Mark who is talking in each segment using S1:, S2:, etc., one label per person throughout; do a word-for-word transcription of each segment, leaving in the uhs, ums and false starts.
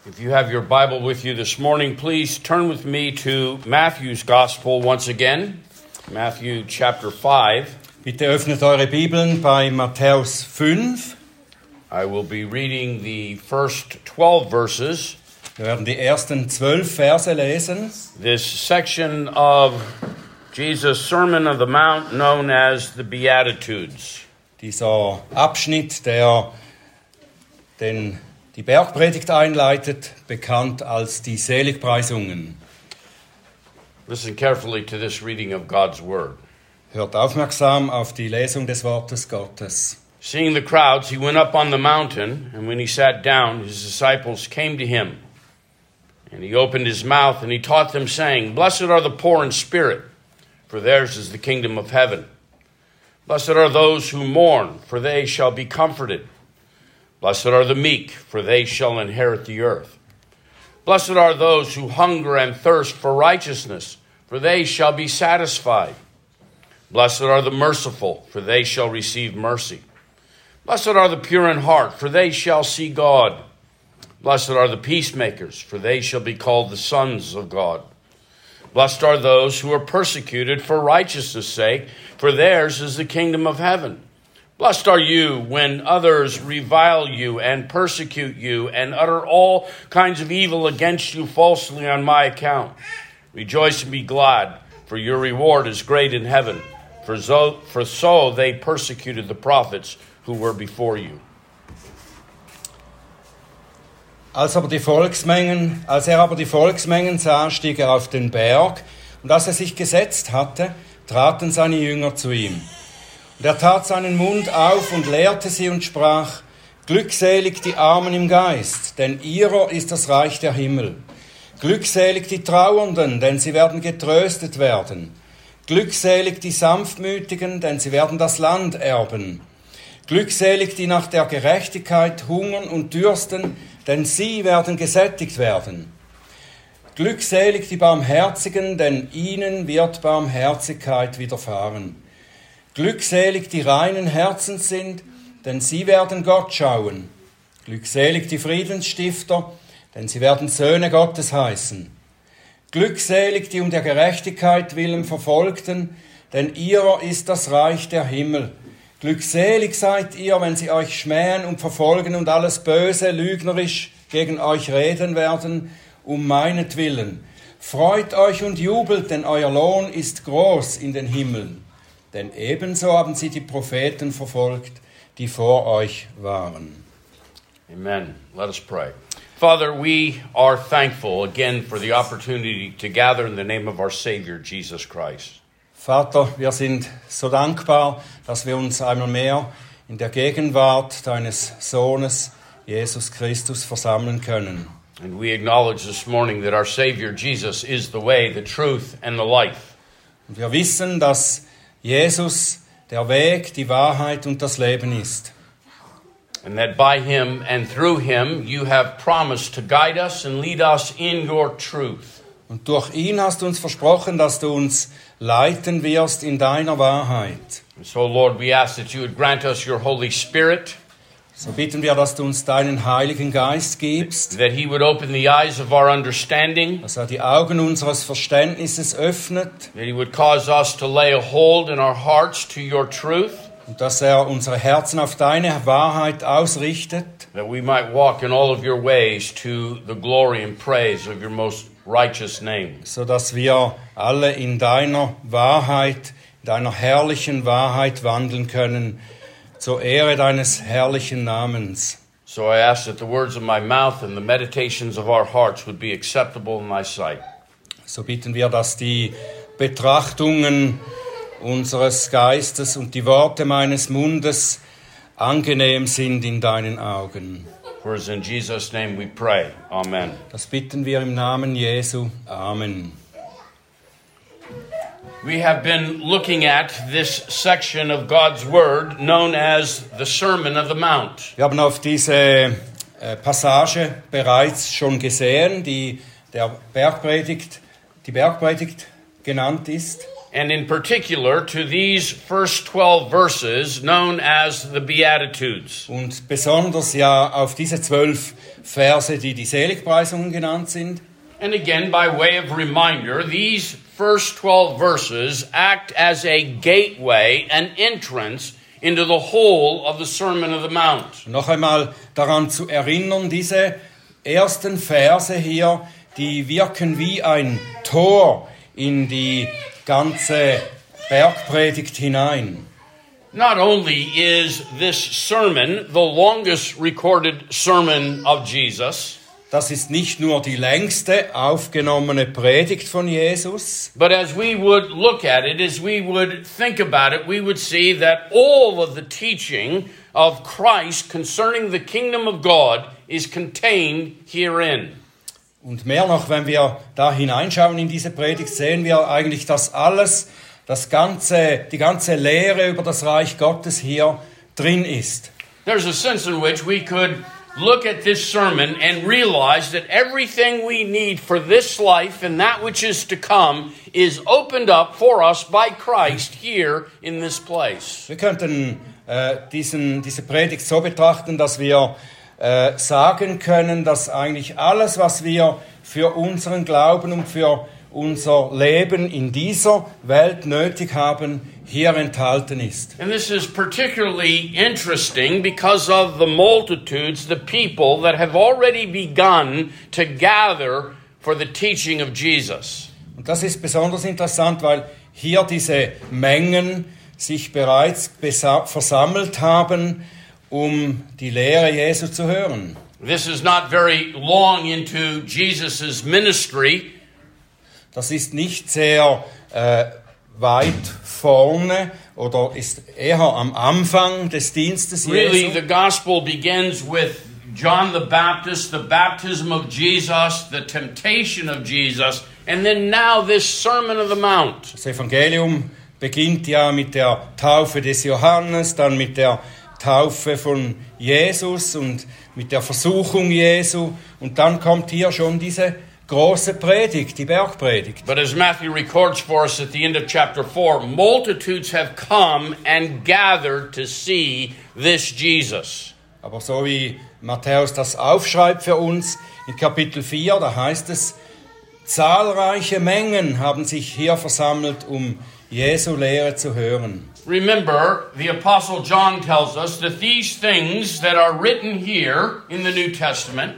S1: If you have your Bible with you this morning, please turn with me to Matthew's Gospel once again, Matthew chapter five.
S2: Bitte öffnet eure Bibeln bei Matthäus fünf.
S1: I will be reading the first twelve verses.
S2: Wir werden die ersten zwölf Verse lesen.
S1: This section of Jesus' Sermon on the Mount, known as the Beatitudes.
S2: Dieser Abschnitt, der den, die Bergpredigt einleitet, bekannt als die Seligpreisungen.
S1: Listen carefully to this reading of God's Word.
S2: Hört aufmerksam auf die Lesung des Wortes Gottes.
S1: Seeing the crowds, he went up on the mountain, and when he sat down, his disciples came to him. And he opened his mouth, and he taught them, saying, Blessed are the poor in spirit, for theirs is the kingdom of heaven. Blessed are those who mourn, for they shall be comforted. Blessed are the meek, for they shall inherit the earth. Blessed are those who hunger and thirst for righteousness, for they shall be satisfied. Blessed are the merciful, for they shall receive mercy. Blessed are the pure in heart, for they shall see God. Blessed are the peacemakers, for they shall be called the sons of God. Blessed are those who are persecuted for righteousness' sake, for theirs is the kingdom of heaven. Blessed are you when others revile you and persecute you and utter all kinds of evil against you falsely on my account. Rejoice and be glad, for your reward is great in heaven. For so, for so they persecuted the prophets who were before you.
S2: Als, aber die Volksmengen, als er aber die Volksmengen sah, stieg er auf den Berg, und als er sich gesetzt hatte, traten seine Jünger zu ihm. Und er tat seinen Mund auf und lehrte sie und sprach, Glückselig die Armen im Geist, denn ihrer ist das Reich der Himmel. Glückselig die Trauernden, denn sie werden getröstet werden. Glückselig die Sanftmütigen, denn sie werden das Land erben. Glückselig die nach der Gerechtigkeit hungern und dürsten, denn sie werden gesättigt werden. Glückselig die Barmherzigen, denn ihnen wird Barmherzigkeit widerfahren. Glückselig die reinen Herzens sind, denn sie werden Gott schauen. Glückselig die Friedensstifter, denn sie werden Söhne Gottes heißen. Glückselig die um der Gerechtigkeit willen Verfolgten, denn ihrer ist das Reich der Himmel. Glückselig seid ihr, wenn sie euch schmähen und verfolgen und alles Böse, lügnerisch gegen euch reden werden, um meinetwillen. Freut euch und jubelt, denn euer Lohn ist groß in den Himmeln. Denn ebenso haben sie die Propheten verfolgt, die vor euch waren.
S1: Amen. Let us pray. Father, we are thankful again for the opportunity to gather in the name of our Savior, Jesus Christ.
S2: Vater, wir sind so dankbar, dass wir uns einmal mehr in der Gegenwart deines Sohnes, Jesus Christus, versammeln können.
S1: And we acknowledge this morning that our Savior, Jesus, is the way, the truth, and the life.
S2: Und wir wissen, dass Jesus der Weg, die Wahrheit und das Leben ist.
S1: And that by him and through him you have promised to guide us and lead us in your truth.
S2: Und durch ihn hast du uns versprochen, dass du uns leiten wirst in deiner Wahrheit.
S1: And so, Lord, we ask that you would grant us your Holy Spirit.
S2: So bitten wir, dass du uns deinen Heiligen Geist gibst,
S1: that he would open the eyes of our understanding,
S2: dass er die Augen unseres Verständnisses öffnet,
S1: that he would cause us to lay a hold in our hearts to your truth,
S2: und dass er unsere Herzen auf deine Wahrheit ausrichtet,
S1: that we might walk in all of your ways to the glory and praise of your most righteous name.
S2: so dass wir alle in deiner Wahrheit, in deiner herrlichen Wahrheit wandeln können, zur Ehre deines herrlichen Namens.
S1: So I ask that the words of my mouth and the meditations of our hearts would be acceptable in thy sight.
S2: So bitten wir, dass die Betrachtungen unseres Geistes und die Worte meines Mundes angenehm sind in deinen Augen.
S1: For it's in Jesus' name we pray. Amen.
S2: Das bitten wir im Namen Jesu. Amen.
S1: We have been looking at this section of God's Word known as the Sermon of the Mount.
S2: Wir haben auf diese äh, Passage bereits schon gesehen, die der Bergpredigt, die Bergpredigt genannt ist.
S1: and in particular to these first twelve verses known as the Beatitudes.
S2: Und besonders ja auf diese zwölf Verse, die die Seligpreisungen genannt sind.
S1: And again, by way of reminder, these first twelve verses act as a gateway, an entrance into the whole of the Sermon of the Mount.
S2: Noch einmal daran zu erinnern, diese ersten Verse hier, die wirken wie ein Tor in die ganze Bergpredigt hinein.
S1: Not only is this sermon the longest recorded sermon of Jesus,
S2: Das ist nicht nur die längste aufgenommene Predigt von Jesus,
S1: but as we would look at it, as we would think about it, we would see that all of the teaching of Christ concerning the kingdom of God is contained herein.
S2: und mehr noch, wenn wir da hineinschauen in diese Predigt, sehen wir eigentlich, dass alles, das ganze, die ganze Lehre über das Reich Gottes hier drin ist.
S1: There's a sense in which we could look at this sermon and realize that everything we need for this life and that which is to come is opened up for us by Christ here in this place.
S2: Wir könnten äh, diesen, diese Predigt so betrachten, dass wir äh, sagen können, dass eigentlich alles, was wir für unseren Glauben und für unser Leben in dieser Welt nötig haben, hier enthalten ist.
S1: And this is particularly interesting because of the multitudes, the people that have already begun to gather for the teaching of Jesus.
S2: Und das ist besonders interessant, weil hier diese Mengen sich bereits besa- versammelt haben, um die Lehre Jesu zu hören.
S1: This is not very long into Jesus' ministry.
S2: Das ist nicht sehr äh, weit vorne oder ist eher am Anfang des Dienstes
S1: Really,
S2: Jesu.
S1: the gospel begins with John the Baptist, the baptism of Jesus, the temptation of Jesus, and then now this Sermon of the Mount.
S2: Das Evangelium beginnt ja mit der Taufe des Johannes, dann mit der Taufe von Jesus und mit der Versuchung Jesu. Und dann kommt hier schon diese große Predigt, die Bergpredigt.
S1: But as Matthew records for us at the end of chapter four, multitudes have come and gathered to see this Jesus.
S2: Aber so wie Matthäus das aufschreibt für uns in Kapitel vier, da heißt es, zahlreiche Mengen haben sich hier versammelt, um Jesu Lehre zu hören.
S1: Remember, the Apostle John tells us that these things that are written here in the New Testament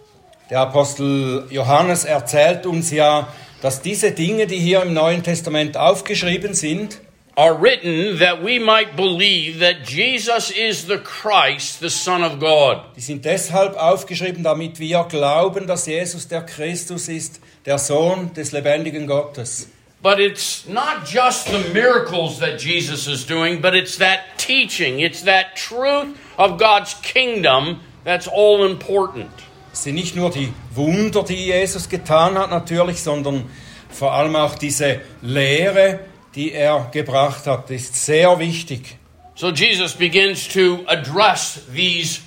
S2: Der Apostel Johannes erzählt uns ja, dass diese Dinge, die hier im Neuen Testament aufgeschrieben sind,
S1: are written that we might believe that Jesus is the Christ, the Son of God.
S2: die sind deshalb aufgeschrieben, damit wir glauben, dass Jesus der Christus ist, der Sohn des lebendigen Gottes.
S1: But it's not just the miracles that Jesus is doing, but it's that teaching, it's that truth of God's kingdom that's all important.
S2: Es sind nicht nur die Wunder, die Jesus getan hat natürlich, sondern vor allem auch diese Lehre, die er gebracht hat, ist sehr wichtig.
S1: So Jesus begins to address these,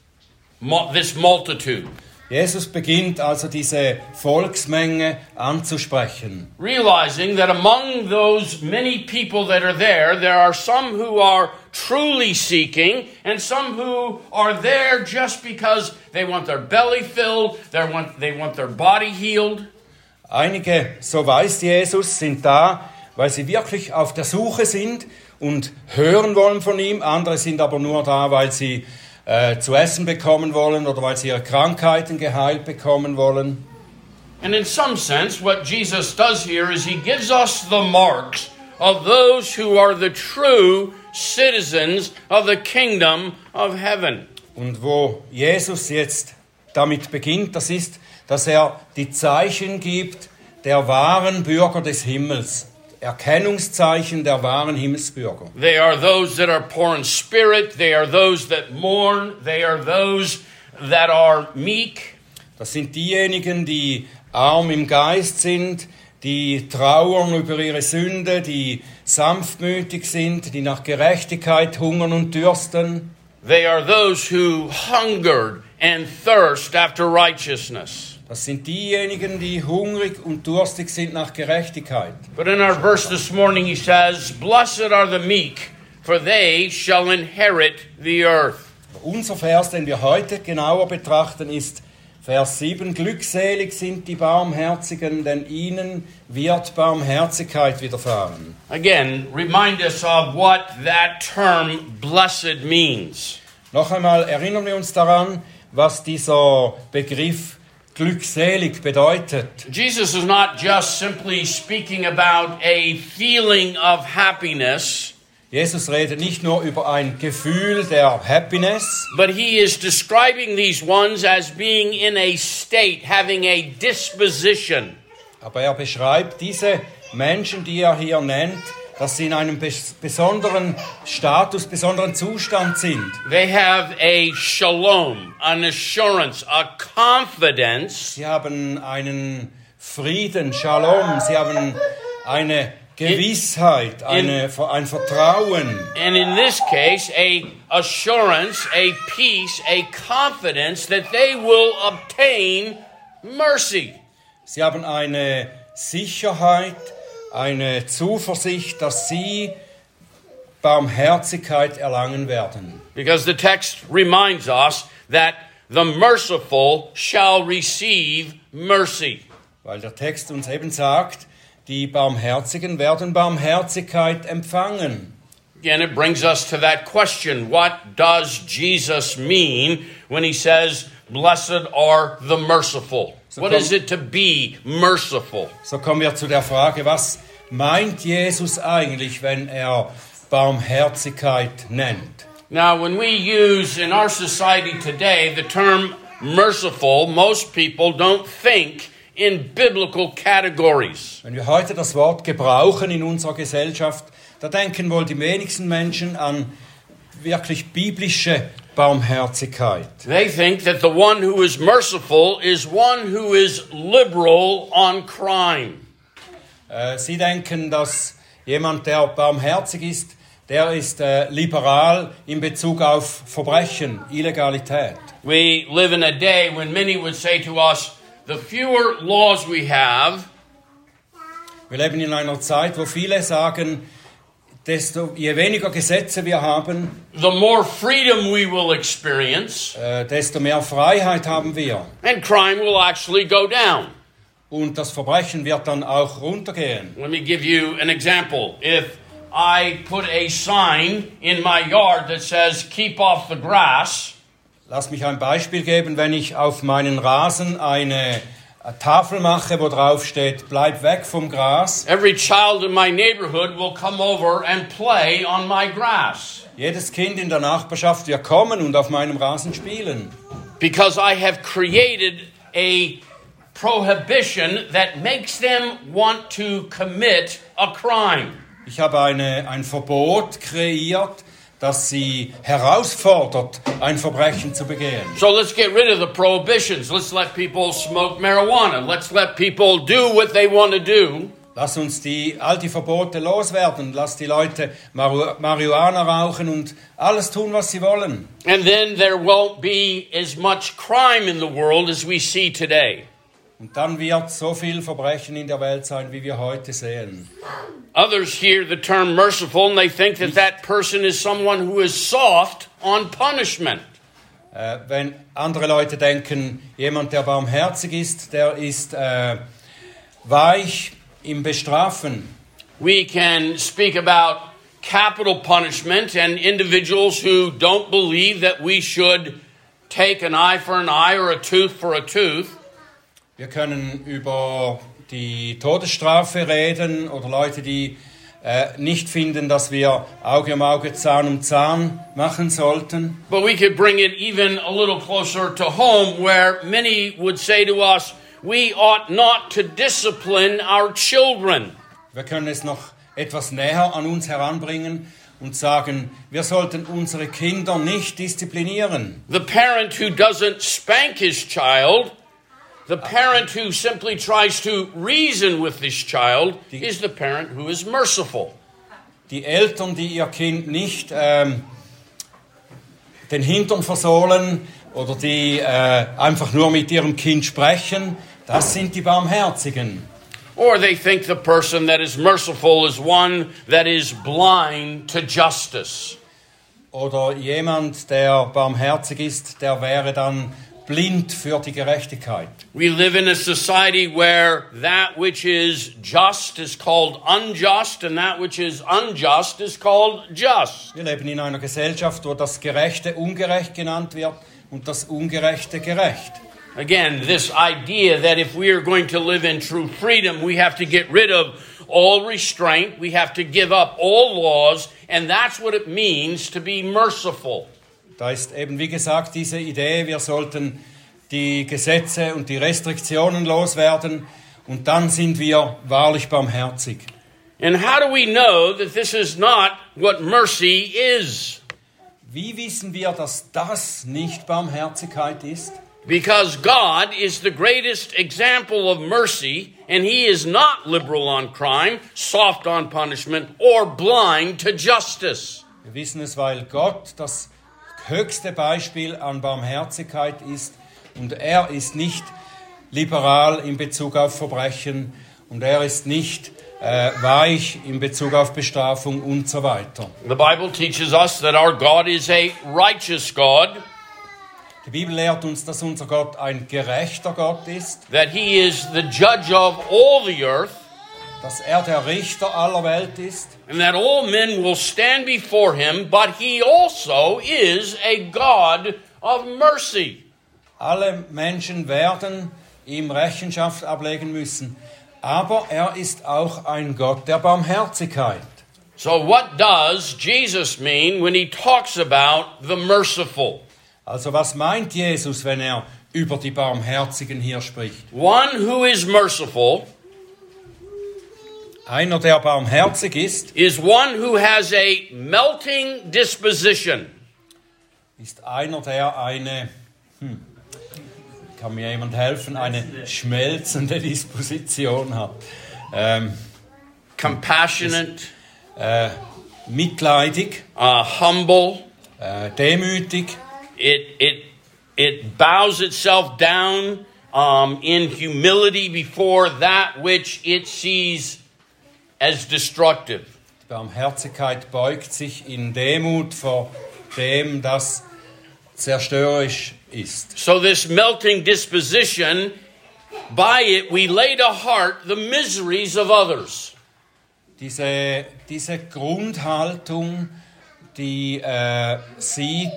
S1: this multitude,
S2: Jesus beginnt also diese Volksmenge anzusprechen.
S1: realizing that among those many people that are there, there are some who are truly seeking and some who are there just because they want their belly filled, they want, they want their body healed.
S2: Einige, so weiß Jesus, sind da, weil sie wirklich auf der Suche sind und hören wollen von ihm. Andere sind aber nur da, weil sie äh, zu essen bekommen wollen oder weil sie ihre Krankheiten geheilt bekommen wollen.
S1: And in some sense, what Jesus does here is he gives us the marks of those who are the true citizens of the kingdom of heaven.
S2: Und wo Jesus jetzt damit beginnt, das ist, dass er die Zeichen gibt der wahren Bürger des Himmels. Erkennungszeichen der wahren Himmelsbürger.
S1: They are those that are poor in spirit. They are those that mourn. They are those that are meek.
S2: Das sind diejenigen, die arm im Geist sind, die trauern über ihre Sünde, die sanftmütig sind, die nach Gerechtigkeit hungern und dürsten.
S1: They are those who hungered and thirst after righteousness.
S2: Das sind diejenigen, die hungrig und durstig sind nach Gerechtigkeit.
S1: But in our verse this morning he says, "Blessed are the meek, for they shall inherit the earth."
S2: Unser Vers, den wir heute genauer betrachten, ist Vers sieben. Glückselig sind die Barmherzigen, denn ihnen wird Barmherzigkeit widerfahren.
S1: Again, remind us of what that term blessed means.
S2: Noch einmal erinnern wir uns daran, was dieser Begriff glückselig bedeutet.
S1: Jesus is not just simply speaking about a feeling of happiness,
S2: Jesus redet nicht nur über ein Gefühl der Happiness,
S1: but he is describing these ones as being in a state, having a disposition.
S2: aber er beschreibt diese Menschen, die er hier nennt, dass sie in einem bes- besonderen Status, besonderen Zustand sind.
S1: They have a shalom, an assurance, a confidence
S2: Sie haben einen Frieden, Shalom, sie haben eine Gewissheit, eine, ein Vertrauen.
S1: and in this case, a assurance, a peace, a confidence that they will obtain mercy.
S2: Sie haben eine Sicherheit, eine Zuversicht, dass sie Barmherzigkeit erlangen werden.
S1: Because the text reminds us that the merciful shall receive mercy.
S2: Weil der Text uns eben sagt, die Barmherzigen werden Barmherzigkeit empfangen.
S1: Again, it brings us to that question. What does Jesus mean when he says, "Blessed are the merciful"?
S2: So
S1: What
S2: come-
S1: is it to be merciful?
S2: So kommen wir zu der Frage, was meint Jesus eigentlich, wenn er Barmherzigkeit nennt?
S1: Now, when we use in our society today the term merciful, most people don't think in biblical categories.
S2: Wenn wir heute das Wort gebrauchen in unserer Gesellschaft, da denken wohl die wenigsten Menschen an wirklich biblische Barmherzigkeit.
S1: They think that the one who is merciful is one who is liberal on crime.
S2: Äh, Sie denken, dass jemand, der barmherzig ist, der ist äh, liberal in Bezug auf Verbrechen, Illegalität.
S1: We live in a day when many would say to us, the fewer laws we have,
S2: Wir leben in einer Zeit, wo viele sagen, desto je weniger Gesetze wir haben,
S1: the more freedom we will experience,
S2: äh, desto mehr Freiheit haben wir.
S1: and crime will actually go down.
S2: Und das Verbrechen wird dann auch runtergehen.
S1: Let me give you an example. If I put a sign in my yard that says, "Keep off the grass,"
S2: Lass mich ein Beispiel geben, wenn ich auf meinen Rasen eine Tafel mache, wo drauf steht, bleib weg vom Gras.
S1: every child in my neighborhood will come over and play on my grass.
S2: Jedes Kind in der Nachbarschaft wird kommen und auf meinem Rasen spielen.
S1: Because I have created a prohibition that makes them want to commit a crime.
S2: Ich habe eine, ein Verbot kreiert, das sie herausfordert, ein Verbrechen zu begehen.
S1: So let's get rid of the prohibitions. Let's let people smoke marijuana. Let's let people do what they want to do.
S2: Lass uns die, all die Verbote loswerden. Lass die Leute Maru- Marihuana rauchen und alles tun, was sie wollen.
S1: And then there won't be as much crime in the world as we see today.
S2: Und dann wird so viel Verbrechen in der Welt sein, wie wir heute sehen.
S1: Others hear the term merciful and they think that that person is someone who is soft on punishment.
S2: Äh, wenn andere Leute denken, jemand, der barmherzig ist, der ist äh, weich im Bestrafen.
S1: We can speak about capital punishment and individuals who don't believe that we should take an eye for an eye or a tooth for a tooth.
S2: Wir können über die Todesstrafe reden oder Leute, die äh, nicht finden, dass wir Auge um Auge, Zahn um Zahn machen sollten.
S1: But we could bring it even a little closer to home where many would say to us, we ought not to discipline our children.
S2: Wir können es noch etwas näher an uns heranbringen und sagen, wir sollten unsere Kinder nicht disziplinieren.
S1: The parent who doesn't spank his child, the parent who simply tries to reason with this child, is the parent who is merciful.
S2: Die Eltern, die ihr Kind nicht ähm, den Hintern versohlen oder die äh, einfach nur mit ihrem Kind sprechen, das sind die Barmherzigen.
S1: Or they think the person that is merciful is one that is blind to justice.
S2: Oder jemand, der barmherzig ist, der wäre dann blind für die Gerechtigkeit.
S1: We live in a society where that which is just is called unjust and that which is unjust is called just.
S2: Wir leben in einer Gesellschaft, wo das Gerechte ungerecht genannt wird und das Ungerechte gerecht.
S1: Again, this idea that if we are going to live in true freedom, we have to get rid of all restraint, we have to give up all laws, and that's what it means to be merciful.
S2: Da ist eben, wie gesagt, diese Idee, wir sollten die Gesetze und die Restriktionen loswerden und dann sind wir wahrlich barmherzig.
S1: And how do we know that this is not what mercy is?
S2: Wie wissen wir, dass das nicht Barmherzigkeit ist?
S1: Because God is the greatest example of mercy, and He is not liberal on crime, soft on punishment, or blind to justice.
S2: Wir wissen es, weil Gott das höchste Beispiel an Barmherzigkeit ist und er ist nicht liberal in Bezug auf Verbrechen und er ist nicht äh, weich in Bezug auf Bestrafung und so weiter.
S1: The Bible teaches us that our God is a righteous God.
S2: Die Bibel lehrt uns, dass unser Gott ein gerechter Gott ist,
S1: That He is the judge of all the earth,
S2: dass er der Richter aller Welt ist
S1: and that all men will stand before Him, but He also is a God of mercy.
S2: Alle Menschen werden ihm Rechenschaft ablegen müssen, aber er ist auch ein Gott der Barmherzigkeit.
S1: So what does Jesus mean when He talks about the merciful?
S2: Also was meint Jesus, wenn er über die Barmherzigen hier spricht?
S1: One who is merciful
S2: Einer, der barmherzig ist,
S1: is one who has a melting disposition.
S2: ist einer, der eine, hm, kann mir jemand helfen, eine schmelzende Disposition hat. Ähm,
S1: Compassionate,
S2: äh, mitleidig,
S1: uh, humble.
S2: äh, demütig.
S1: It it it bows itself down um, in humility before that which it sees as destructive.
S2: Die Barmherzigkeit beugt sich in Demut vor dem, das zerstörerisch ist.
S1: So this melting disposition, by it we lay to heart the miseries of others.
S2: Diese, diese Grundhaltung, die äh, sieht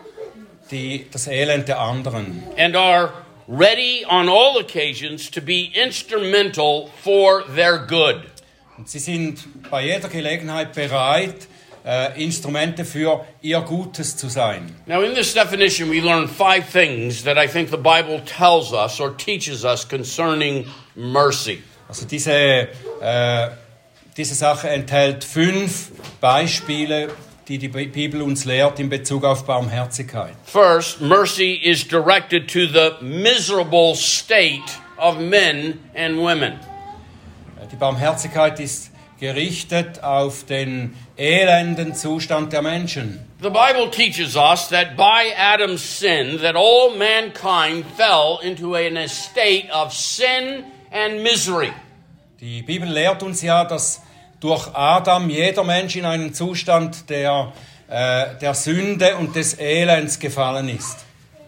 S2: die, das Elend der anderen.
S1: And are ready on all occasions to be instrumental for their good.
S2: Und sie sind bei jeder Gelegenheit bereit, äh, Instrumente für ihr Gutes zu sein.
S1: Now in this definition we learn five things that I think the Bible tells us or teaches us concerning mercy.
S2: Also diese, äh, diese Sache enthält fünf Beispiele, die die Bibel uns lehrt in Bezug auf Barmherzigkeit.
S1: First, mercy is directed to the miserable state of men and women.
S2: Die Barmherzigkeit ist gerichtet auf den elenden Zustand der Menschen.
S1: The Bible teaches us that by Adam's sin, that all mankind fell into an estate of sin and misery.
S2: Die Bibel lehrt uns ja, dass durch Adam jeder Mensch in einen Zustand der, äh, der Sünde und des Elends gefallen ist.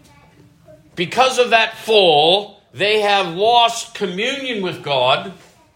S1: Because of that fall, they have lost communion with God.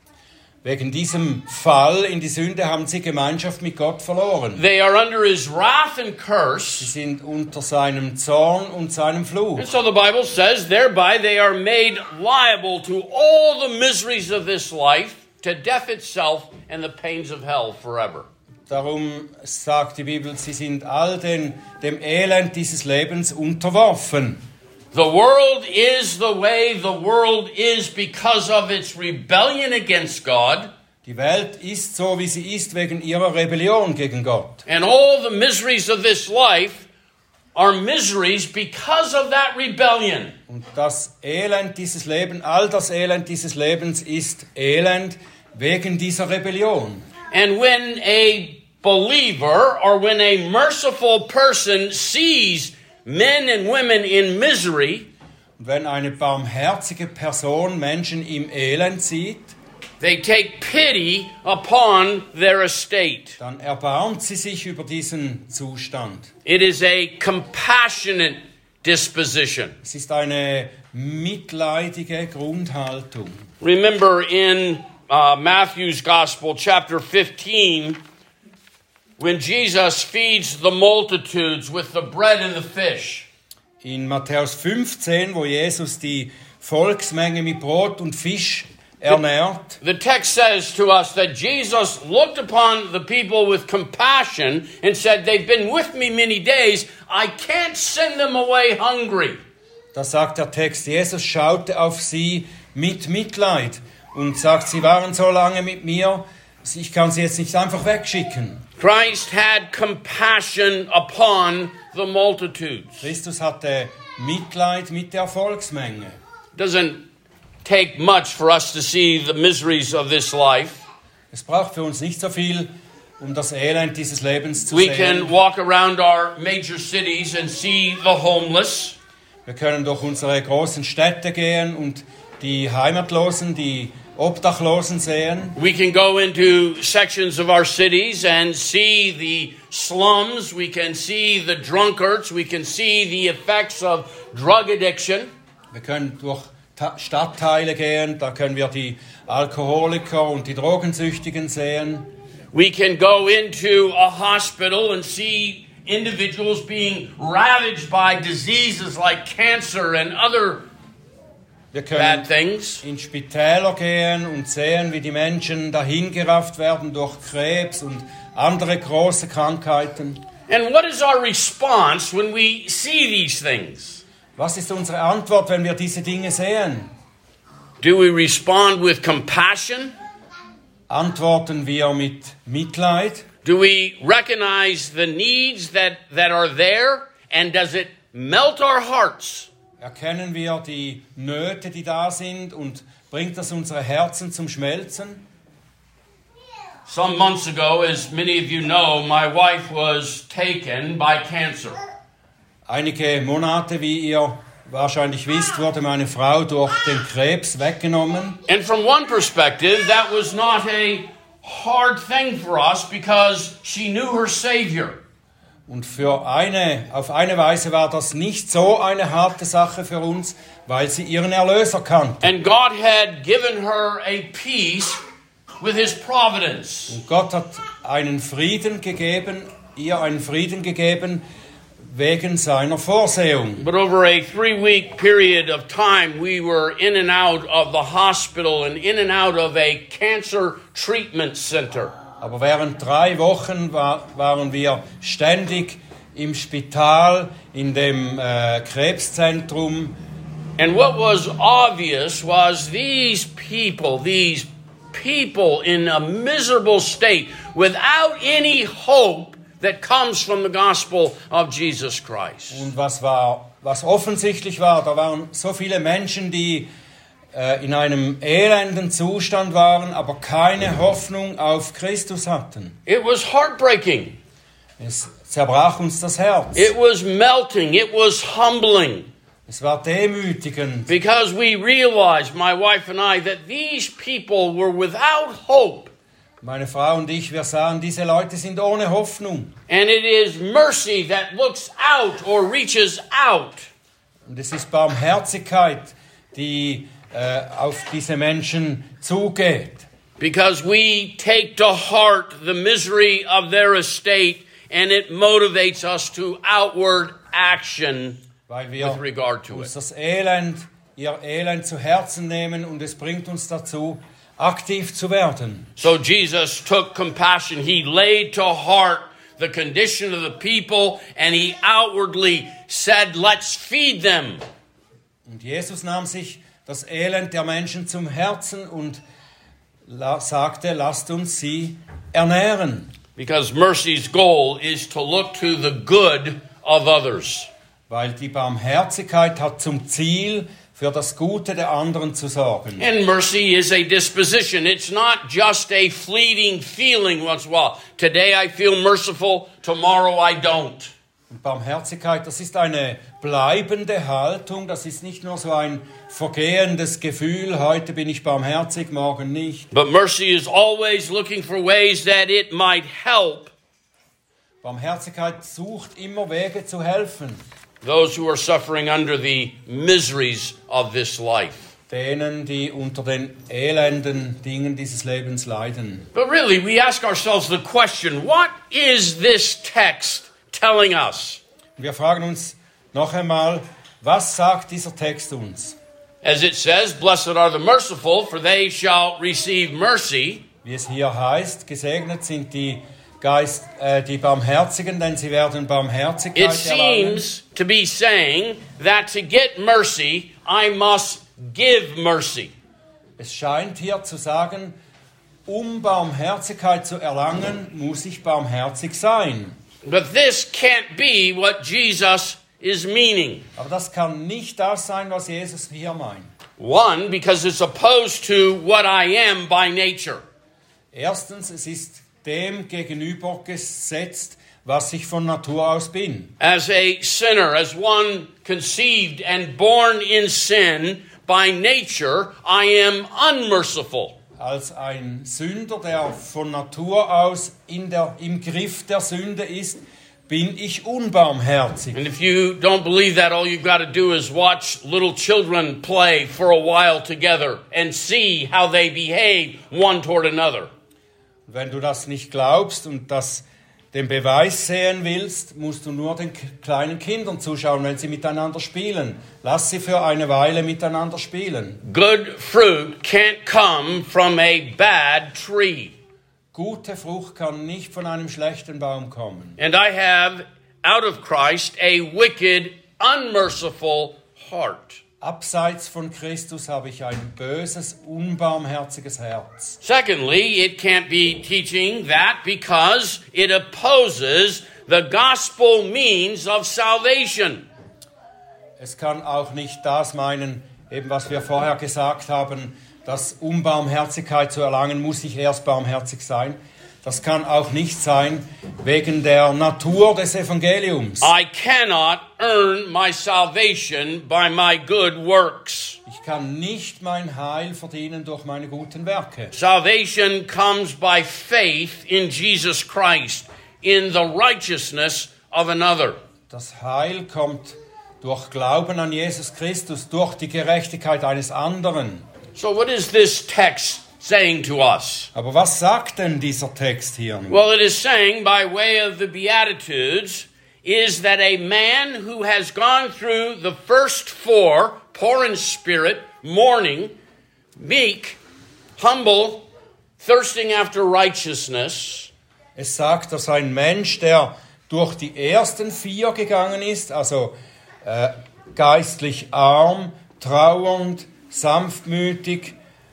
S2: Wegen diesem Fall in die Sünde haben sie Gemeinschaft mit Gott verloren.
S1: They are under His wrath and
S2: Sie
S1: curse.
S2: sind unter seinem Zorn und seinem Fluch.
S1: And so the Bible says, thereby they are made liable to all the miseries of this life, to death itself and the pains of hell forever.
S2: Darum sagt die Bibel, sie sind all den, dem Elend dieses Lebens unterworfen.
S1: The world is the way the world is because of its rebellion against God.
S2: Die Welt ist so, wie sie ist, wegen ihrer Rebellion gegen Gott.
S1: And all the miseries of this life are miseries because of that rebellion.
S2: Und das Elend dieses Lebens, all das Elend dieses Lebens ist Elend wegen dieser Rebellion.
S1: And when a believer or when a merciful person sees men and women in misery,
S2: Und wenn eine barmherzige Person Menschen im Elend sieht,
S1: they take pity upon their estate.
S2: dann erbarmt sie sich über diesen Zustand.
S1: It is a compassionate disposition.
S2: Es ist eine mitleidige Grundhaltung.
S1: Remember in uh, Matthew's Gospel, chapter fifteen, when Jesus feeds the multitudes with the bread and the fish.
S2: In Matthäus fünfzehn, wo Jesus die Volksmenge mit Brot und Fisch ernährt,
S1: The text says to us that Jesus looked upon the people with compassion and said, they've been with me many days, I can't send them away hungry.
S2: da sagt der Text, Jesus schaute auf sie mit Mitleid und sagt, sie waren so lange mit mir, ich kann sie jetzt nicht einfach wegschicken.
S1: Christ had compassion upon the multitudes.
S2: Christus hatte Mitleid mit der Volksmenge.
S1: Doesn't take much for us to see the miseries of this life.
S2: Es braucht für uns nicht so viel, um das Elend dieses Lebens zu
S1: We
S2: sehen.
S1: can walk around our major cities and see the homeless.
S2: Wir können durch unsere großen Städte gehen und die Heimatlosen, die Obdachlosen sehen.
S1: We can go into sections of our cities and see the slums. We can see the drunkards. We can see the effects of drug addiction.
S2: Wir können durch Ta- Stadtteile gehen, da können wir die Alkoholiker und die Drogensüchtigen sehen.
S1: We can go into a hospital and see individuals being ravaged by diseases like cancer and other
S2: Wir
S1: bad
S2: können
S1: things.
S2: in Spitäler gehen und sehen, wie die Menschen dahingerafft werden durch Krebs und andere große Krankheiten.
S1: And what is our response when we see these things?
S2: Was ist unsere Antwort, wenn wir diese Dinge sehen?
S1: Do we respond with compassion?
S2: Antworten wir mit Mitleid?
S1: Do we recognize the needs that, that are there? And does it melt our hearts?
S2: Erkennen wir die Nöte, die da sind, und bringt das unsere Herzen zum Schmelzen?
S1: Some months ago, as many of you know, my wife was taken by cancer.
S2: Einige Monate, wie ihr wahrscheinlich wisst, wurde meine Frau durch den Krebs weggenommen.
S1: And from one perspective, that was not a hard thing for us because she knew her Savior.
S2: Und für eine, auf eine Weise war das nicht so eine harte Sache für uns, weil sie ihren Erlöser kannte.
S1: And God had given her a peace with His providence.
S2: Und Gott hat einen Frieden gegeben, ihr einen Frieden gegeben, wegen seiner Vorsehung.
S1: But over a three-week period of time, we were in and out of the hospital and in and out of a cancer treatment center.
S2: Aber während drei Wochen war, waren wir ständig im Spital, in dem äh, Krebszentrum.
S1: And what was obvious was these people, these people in a miserable state, without any hope that comes from the gospel of Jesus Christ.
S2: Und was war, was offensichtlich war, da waren so viele Menschen, die äh, in einem elenden Zustand waren, aber keine Hoffnung auf Christus hatten.
S1: It was heartbreaking.
S2: Es zerbrach uns das Herz.
S1: It was melting. It was humbling.
S2: Es war demütigend,
S1: Because we realized, my wife and I, that these people were without hope.
S2: meine Frau und ich, wir sahen, diese Leute sind ohne Hoffnung.
S1: And it is mercy that looks out or reaches out.
S2: Und es ist Barmherzigkeit, die äh, auf diese Menschen zugeht.
S1: Because we take to heart the misery of their estate and it motivates us to outward action
S2: Weil wir
S1: with regard to
S2: uns
S1: it.
S2: das Elend, ihr Elend zu Herzen nehmen, und es bringt uns dazu, aktiv zu werden.
S1: So Jesus took compassion. He laid to heart the condition of the people and he outwardly said, let's feed them.
S2: Und Jesus nahm sich das Elend der Menschen zum Herzen und la- sagte, lasst uns sie ernähren.
S1: Because mercy's goal is to look to the good of others.
S2: Weil die Barmherzigkeit hat zum Ziel, für das Gute der anderen zu sorgen.
S1: And mercy is a disposition. It's not just a fleeting feeling once in a while. Today I feel merciful, tomorrow I don't.
S2: Und Barmherzigkeit, das ist eine bleibende Haltung, das ist nicht nur so ein vergehendes Gefühl, heute bin ich barmherzig, morgen nicht.
S1: But mercy is always looking for ways that it might help
S2: Barmherzigkeit sucht immer Wege zu helfen,
S1: those who are suffering under the miseries of this life.
S2: denen, die unter den elenden Dingen dieses Lebens leiden.
S1: But really, we ask ourselves the question, what is this text telling us?
S2: Wir fragen uns noch einmal, was sagt dieser Text uns?
S1: As it says, blessed are the merciful, for they shall receive mercy.
S2: Wie es hier heißt, gesegnet sind die Geist, äh, die Barmherzigen, denn sie werden
S1: It
S2: Barmherzigkeit erlangen.
S1: seems to be saying that to get mercy, I must give mercy.
S2: Es scheint hier zu sagen, um Barmherzigkeit zu erlangen, muss ich barmherzig sein.
S1: But this can't be what Jesus is meaning.
S2: Aber das kann nicht das sein, was Jesus hier meint.
S1: One, because it's opposed to what I am by nature.
S2: Erstens, es ist dem gegenübergesetzt, was ich von Natur aus bin.
S1: As a sinner, as one conceived and born in sin, by nature, I am unmerciful.
S2: Als ein Sünder, der von Natur aus in der, im Griff der Sünde ist, bin ich unbarmherzig.
S1: And if you don't believe that, all you've got to do is watch little children play for a while together and see how they behave one toward another.
S2: Wenn du das nicht glaubst und das den Beweis sehen willst, musst du nur den kleinen Kindern zuschauen, wenn sie miteinander spielen. Lass sie für eine Weile miteinander spielen.
S1: Good fruit can't come from a bad tree.
S2: Gute Frucht kann nicht von einem schlechten Baum kommen.
S1: And I have, out of Christ, a wicked, unmerciful heart.
S2: Abseits von Christus habe ich ein böses, unbarmherziges Herz.
S1: Secondly, it can't be teaching that because it opposes the gospel means of salvation.
S2: Es kann auch nicht das meinen, eben was wir vorher gesagt haben, dass um Barmherzigkeit zu erlangen, muss ich erst barmherzig sein. Das kann auch nicht sein wegen der Natur des Evangeliums.
S1: I cannot earn my salvation by my good works.
S2: Ich kann nicht mein Heil verdienen durch meine guten Werke.
S1: Salvation comes by faith in Jesus Christ, in the righteousness of another.
S2: Das Heil kommt durch Glauben an Jesus Christus, durch die Gerechtigkeit eines anderen.
S1: So what is this text saying to us?
S2: Aber was sagt denn dieser Text hier nun?
S1: Well, it is saying by way of the Beatitudes is that a man who has gone through the first four, poor in spirit, mourning, meek, humble, thirsting after righteousness.
S2: Es sagt, dass ein Mensch, der durch die ersten vier gegangen ist, also äh, geistlich arm, trauernd, sanftmütig,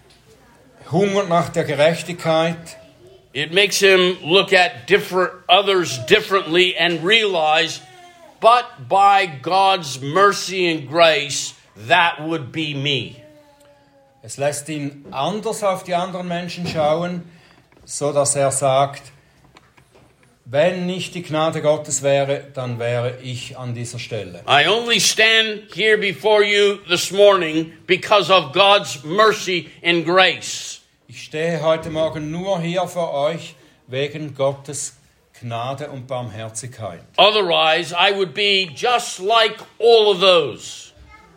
S2: hungert nach der Gerechtigkeit.
S1: It makes him look at different others differently and realize, but by God's mercy and grace, that would be me.
S2: Es lässt ihn anders auf die anderen Menschen schauen, so dass er sagt, wenn nicht die Gnade Gottes wäre, dann wäre ich an dieser Stelle.
S1: I only stand here before you this morning because of God's mercy and grace.
S2: Ich stehe heute Morgen nur hier für euch wegen Gottes Gnade und Barmherzigkeit.
S1: Otherwise, I would be just like all of those.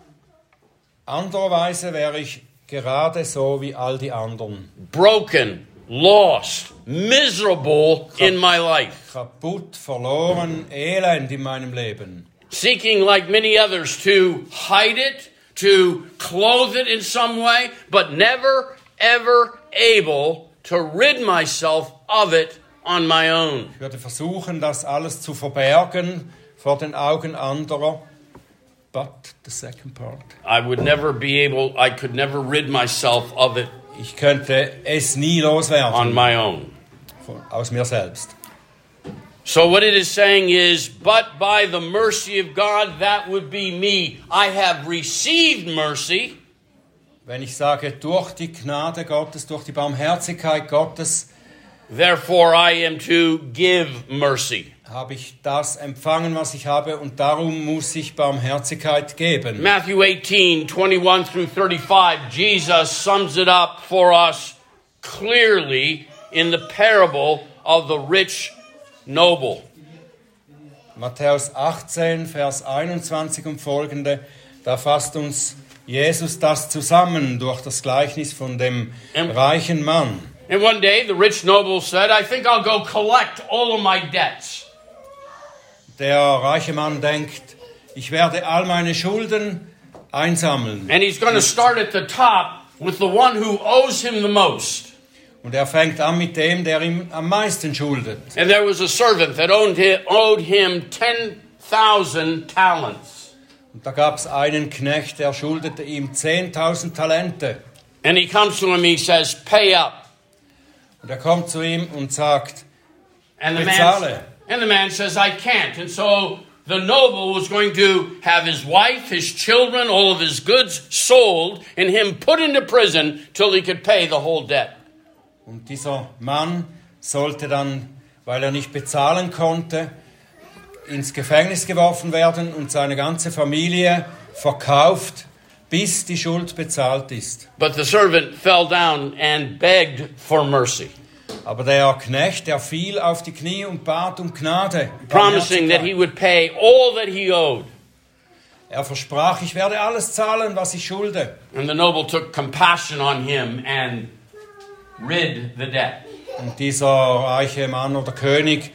S2: Andererweise wäre ich gerade so wie all die anderen.
S1: Broken, lost, miserable in my life.
S2: Kaputt, verloren, elend in meinem Leben.
S1: Seeking, like many others, to hide it, to clothe it in some way, but never, ever able to rid myself of it on my own.
S2: Ich würde versuchen, das alles zu verbergen vor den Augen anderer. But the second part.
S1: I would never be able, I could never rid myself of it
S2: Ich könnte es nie loswerden.
S1: on my own.
S2: Von, aus mir selbst.
S1: So what it is saying is, but by the mercy of God, that would be me. I have received mercy.
S2: Wenn ich sage, durch die Gnade Gottes, durch die Barmherzigkeit Gottes
S1: therefore I am to give mercy.
S2: Habe ich das empfangen, was ich habe, und darum muss ich Barmherzigkeit geben.
S1: Matthew eighteen, twenty-one through thirty-five, Jesus sums it up for us clearly in the parable of the rich noble.
S2: Matthäus achtzehn, Vers einundzwanzig und folgende, da fasst uns Jesus das zusammen durch das Gleichnis von dem
S1: And-
S2: reichen Mann.
S1: And one day the rich noble said, I think I'll go collect all of my debts.
S2: Der reiche Mann denkt, ich werde all meine Schulden einsammeln.
S1: And he's going to start at the top with the one who owes him the most.
S2: Und er fängt an mit dem, der ihm am meisten schuldet.
S1: And there was a servant that owed him, owed him ten thousand talents.
S2: Und da gab es einen Knecht, der schuldete ihm zehntausend Talente.
S1: And he comes to him, he says, pay up.
S2: Und er kommt zu ihm und sagt,
S1: And the
S2: Bezahle.
S1: man, and the man says, I can't. And so the noble was going to have his wife, his children, all of his goods sold, and him put into prison till he could pay the whole debt.
S2: und dieser Mann sollte dann, weil er nicht bezahlen konnte, ins Gefängnis geworfen werden und seine ganze Familie verkauft, bis die Schuld bezahlt ist.
S1: But the servant fell down and begged for mercy,
S2: Aber der Knecht, der fiel auf die Knie und bat um Gnade.
S1: promising that he would pay all that he owed.
S2: Er versprach, ich werde alles zahlen, was ich schulde.
S1: And the noble took compassion on him and rid the debt.
S2: Und dieser reiche Mann oder König,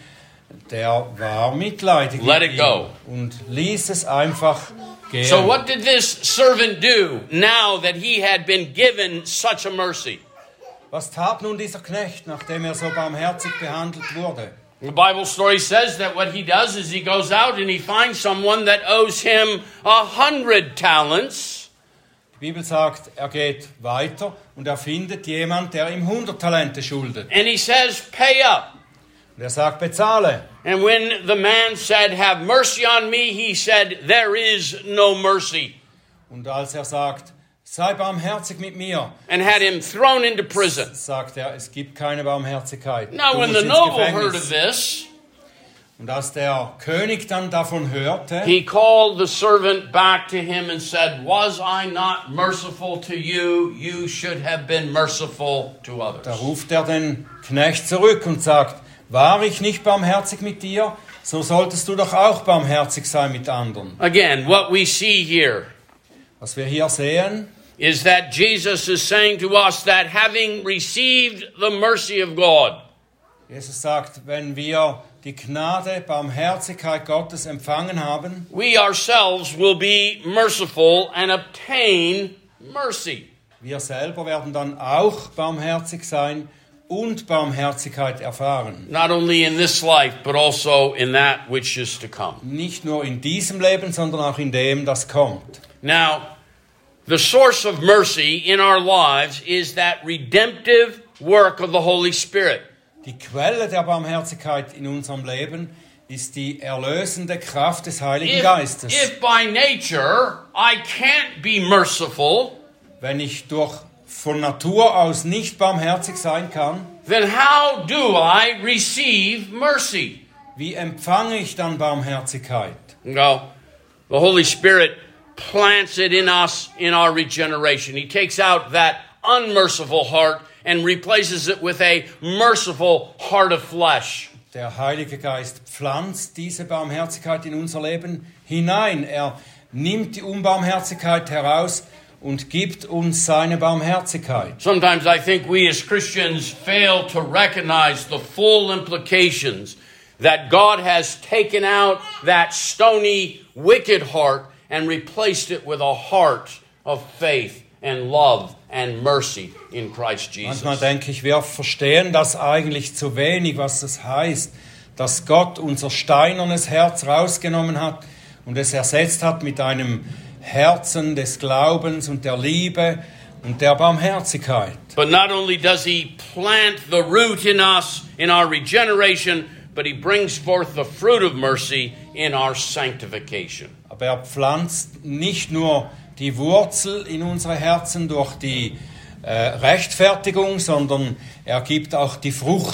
S2: der war mitleidig
S1: Let
S2: mit
S1: it
S2: ihm
S1: go.
S2: und ließ es einfach gehen.
S1: So what did this servant do now that he had been given such a mercy?
S2: Was tat nun dieser Knecht, nachdem er so barmherzig behandelt wurde?
S1: The Bible story says that what he does is he goes out and he finds someone that owes him a hundred talents.
S2: Die Bibel sagt, er geht weiter und er findet jemand, der ihm hundert Talente schuldet.
S1: And he says, pay up.
S2: Und er sagt, bezahle.
S1: And when the man said, have mercy on me, he said, there is no mercy.
S2: Und als er sagt, sei barmherzig mit mir,
S1: And had him thrown into prison.
S2: sagt er, es gibt keine Barmherzigkeit.
S1: Now
S2: Du
S1: when
S2: musst
S1: the
S2: ins
S1: noble
S2: Gefängnis.
S1: heard of this,
S2: Und als der König dann davon hörte,
S1: he called the servant back to him and said, was I not merciful to you? You should have been merciful to
S2: da
S1: others.
S2: ruft er den Knecht zurück und sagt, war ich nicht barmherzig mit dir? So solltest du doch auch barmherzig sein mit anderen.
S1: Again, what we see here
S2: Was wir hier sehen,
S1: is that Jesus is saying to us that having received the mercy of God,
S2: Jesus sagt, wenn wir die Gnade, Barmherzigkeit Gottes empfangen haben,
S1: we ourselves will be merciful and obtain mercy.
S2: wir selber werden dann auch barmherzig sein und Barmherzigkeit erfahren.
S1: Not only in this life, but also in that which is to come.
S2: Nicht nur in diesem Leben, sondern auch in dem, das kommt.
S1: Now, the source of mercy in our lives is that redemptive work of the Holy Spirit.
S2: Die Quelle der Barmherzigkeit in unserem Leben ist die erlösende Kraft des Heiligen
S1: If,
S2: Geistes.
S1: if by nature I can't be merciful,
S2: Wenn ich durch von Natur aus nicht barmherzig sein kann,
S1: then how do I receive mercy?
S2: wie empfange ich dann Barmherzigkeit?
S1: Well, the Holy Spirit plants it in us in our regeneration. He takes out that unmerciful heart and replaces it with a merciful heart of flesh.
S2: Der Heilige Geist pflanzt diese Barmherzigkeit in unser Leben hinein. Er nimmt die Unbarmherzigkeit heraus und gibt uns seine Barmherzigkeit.
S1: Sometimes I think we as Christians fail to recognize the full implications that God has taken out that stony, wicked heart and replaced it with a heart of faith and love and mercy in Christ Jesus.
S2: Manchmal denke ich, wir verstehen das eigentlich zu wenig, was das heißt, dass Gott unser steinernes Herz rausgenommen hat und es ersetzt hat mit einem Herzen des Glaubens und der Liebe und der Barmherzigkeit.
S1: But not only does he plant the root in us in our regeneration, but he brings forth the fruit of mercy in our sanctification.
S2: Aber er pflanzt nicht nur die Wurzel in unsere Herzen durch die äh, Rechtfertigung, sondern er gibt auch die Frucht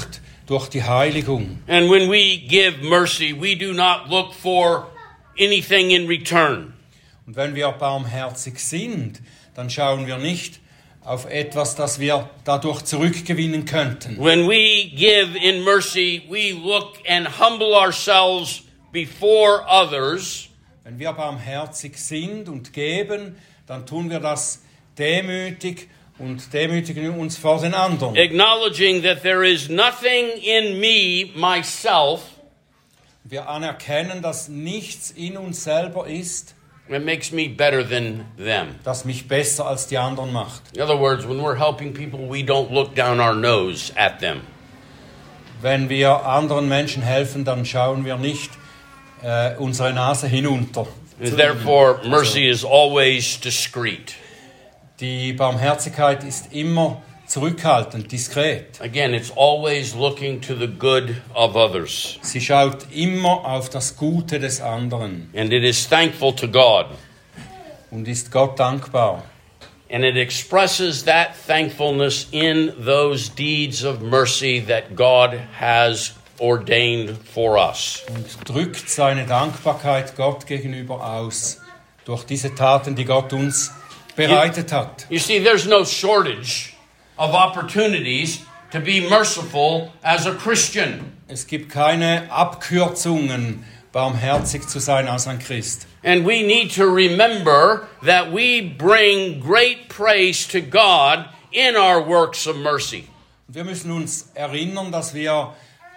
S2: durch die Heiligung.
S1: And when we give mercy, we do not look for anything in return.
S2: Und wenn wir barmherzig sind, dann schauen wir nicht auf etwas, das wir dadurch zurückgewinnen könnten.
S1: When we give in mercy, we look and humble ourselves before others.
S2: Wenn wir barmherzig sind und geben, dann tun wir das demütig und demütigen uns vor den anderen.
S1: Acknowledging that there is nothing in me, myself,
S2: Wir anerkennen, dass nichts in uns selber ist,
S1: that makes me better than them.
S2: das mich besser als die anderen macht.
S1: In other words, when we're helping people, we don't look down our nose at them.
S2: Wenn wir anderen Menschen helfen, dann schauen wir nicht äh, unsere Nase hinunter.
S1: And therefore, mercy is always discreet.
S2: Die Barmherzigkeit ist immer zurückhaltend, diskret.
S1: Again, it's always looking to the good of others.
S2: Sie schaut immer auf das Gute des anderen
S1: And it is thankful to God.
S2: und ist Gott dankbar.
S1: And it expresses that thankfulness in those deeds of mercy that God has ordained for us.
S2: Und drückt seine Dankbarkeit Gott gegenüber aus durch diese Taten, die Gott uns bereitet hat.
S1: You see, there's no shortage of opportunities to be merciful as a Christian.
S2: Es gibt keine Abkürzungen, barmherzig zu sein als ein Christ.
S1: And we need to remember that we bring great praise to God in our works of mercy.
S2: Und wir müssen uns erinnern, dass wir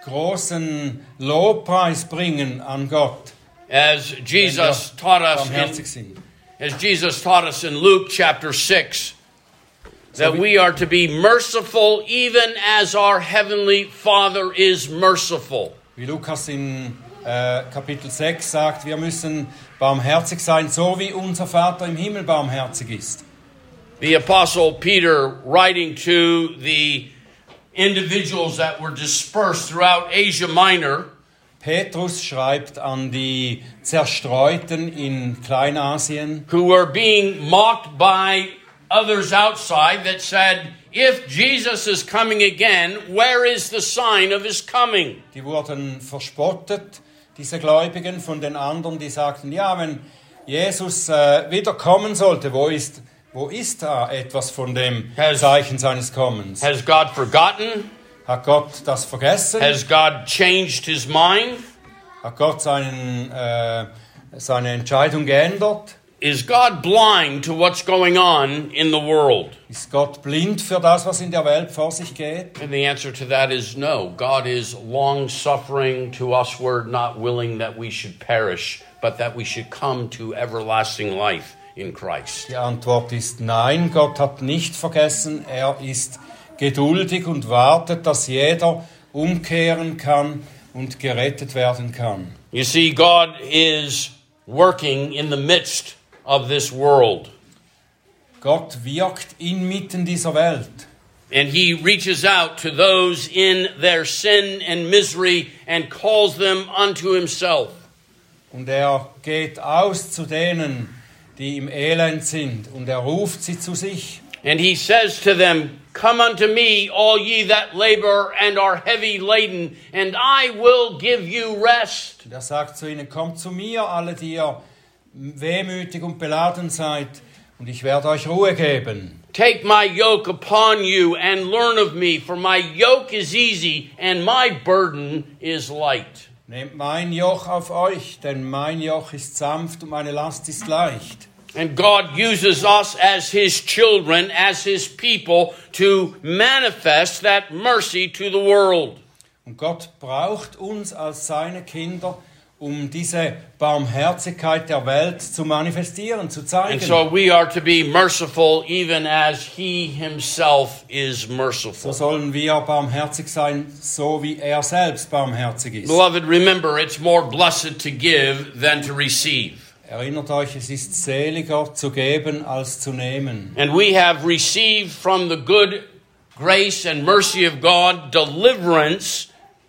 S2: großen Lobpreis bringen an Gott,
S1: As
S2: wenn
S1: Jesus
S2: wir
S1: taught us
S2: barmherzig
S1: in,
S2: sind.
S1: as Jesus taught us in Luke chapter six, that
S2: So we-
S1: we are to be merciful even as our heavenly Father is merciful.
S2: Wie Lukas in äh, Kapitel sechs sagt, wir müssen barmherzig sein, so wie unser Vater im Himmel barmherzig ist.
S1: The Apostle Peter, writing to the individuals that were dispersed throughout Asia Minor,
S2: Petrus schreibt an die Zerstreuten in Kleinasien,
S1: who were being mocked by others outside, that said, if Jesus is coming again, where is the sign of his coming?
S2: die wurden verspottet, diese Gläubigen von den anderen, die sagten, ja, wenn Jesus äh, wiederkommen sollte, wo ist, wo ist da etwas von dem
S1: Has-
S2: Zeichen seines Kommens?
S1: Has God forgotten?
S2: Hat Gott das vergessen?
S1: Has God changed his mind?
S2: Hat Gott seinen, äh, seine Entscheidung geändert?
S1: Is God blind to what's going on in the world?
S2: Ist Gott blind für das, was in der Welt vor sich geht?
S1: And the answer to that is no. God is long-suffering to usward, not willing that we should perish, but that we should come to everlasting life in Christ.
S2: Die Antwort ist nein, Gott hat nicht vergessen. Er ist geduldig und wartet, dass jeder umkehren kann und gerettet werden kann.
S1: You see, God is working in the midst of this world.
S2: Gott wirkt inmitten dieser Welt.
S1: And he reaches out to those in their sin and misery and calls them unto himself.
S2: Und er geht aus zu denen, die im Elend sind. Und er ruft sie zu sich.
S1: And he says to them, come unto me, all ye that labor and are heavy laden, and I will give you rest.
S2: Und er sagt zu ihnen, kommt zu mir, alle, die ihr wehmütig und beladen seid, und ich werde euch Ruhe geben.
S1: Take my yoke upon you and learn of me, for my yoke is easy and my burden is light.
S2: Nehmt mein Joch auf euch, denn mein Joch ist sanft und meine Last ist leicht.
S1: And God uses us as his children, as his people, to manifest that mercy to the world.
S2: Und Gott braucht uns als seine Kinder, um diese Barmherzigkeit der Welt zu manifestieren, zu zeigen.
S1: And so we are to be merciful even as he himself is
S2: So
S1: merciful.
S2: sollen wir barmherzig sein, so wie er selbst barmherzig ist.
S1: Beloved, remember, it's more blessed to give than to receive.
S2: Erinnert euch, es ist seliger zu geben als zu nehmen.
S1: And we have received from the good grace and mercy of God deliverance.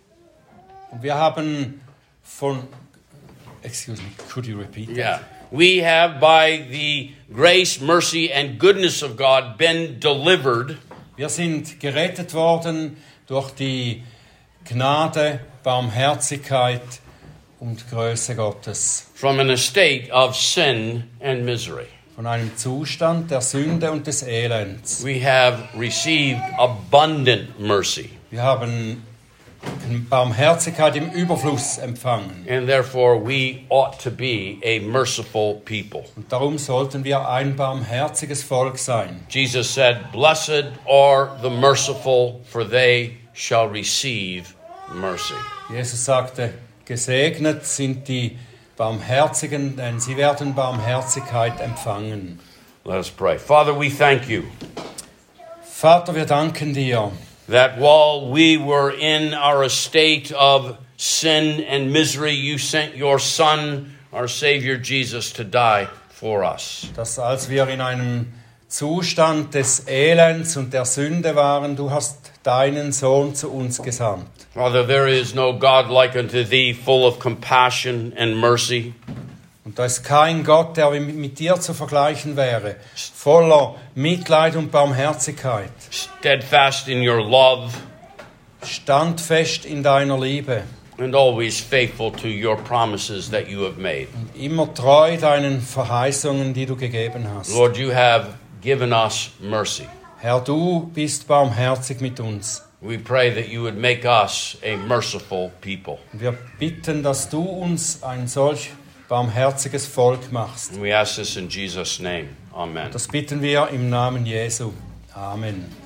S2: Und wir haben von... Excuse me, could you repeat that?
S1: Yeah. We have by the grace, mercy, and goodness of God been delivered
S2: Wir sind gerettet worden durch die Gnade, Barmherzigkeit und Größe Gottes.
S1: From an estate of sin and misery,
S2: Von einem Zustand der Sünde und des Elends.
S1: we have received abundant mercy,
S2: Wir haben Barmherzigkeit im Überfluss empfangen.
S1: and therefore we ought to be a merciful people.
S2: Und darum sollten wir ein barmherziges Volk sein.
S1: Jesus said, "Blessed are the merciful, for they shall receive mercy."
S2: Jesus sagte, gesegnet sind die Barmherzigen, denn sie werden Barmherzigkeit empfangen.
S1: Let us pray. Father, we thank you
S2: Vater, wir danken dir,
S1: that while we were in our estate of sin and misery, you sent your Son, our Savior Jesus, to die for us.
S2: dass als wir in einem Zustand des Elends und der Sünde waren, du hast deinen Sohn zu uns gesandt.
S1: Father, there is no God like unto thee, full of compassion and mercy.
S2: Und da ist kein Gott, der mit dir zu vergleichen wäre, voller Mitleid und Barmherzigkeit,
S1: Steadfast in your love,
S2: standfest in deiner Liebe,
S1: and always faithful to your promises that you have made.
S2: immer treu deinen Verheißungen, die du gegeben hast.
S1: Lord, you have given us mercy.
S2: Herr, du bist barmherzig mit uns.
S1: We pray that you would make us a merciful people.
S2: Und wir bitten, dass du uns ein solch barmherziges Volk machst.
S1: And we ask this in Jesus' name. Amen.
S2: Das bitten wir im Namen Jesu. Amen.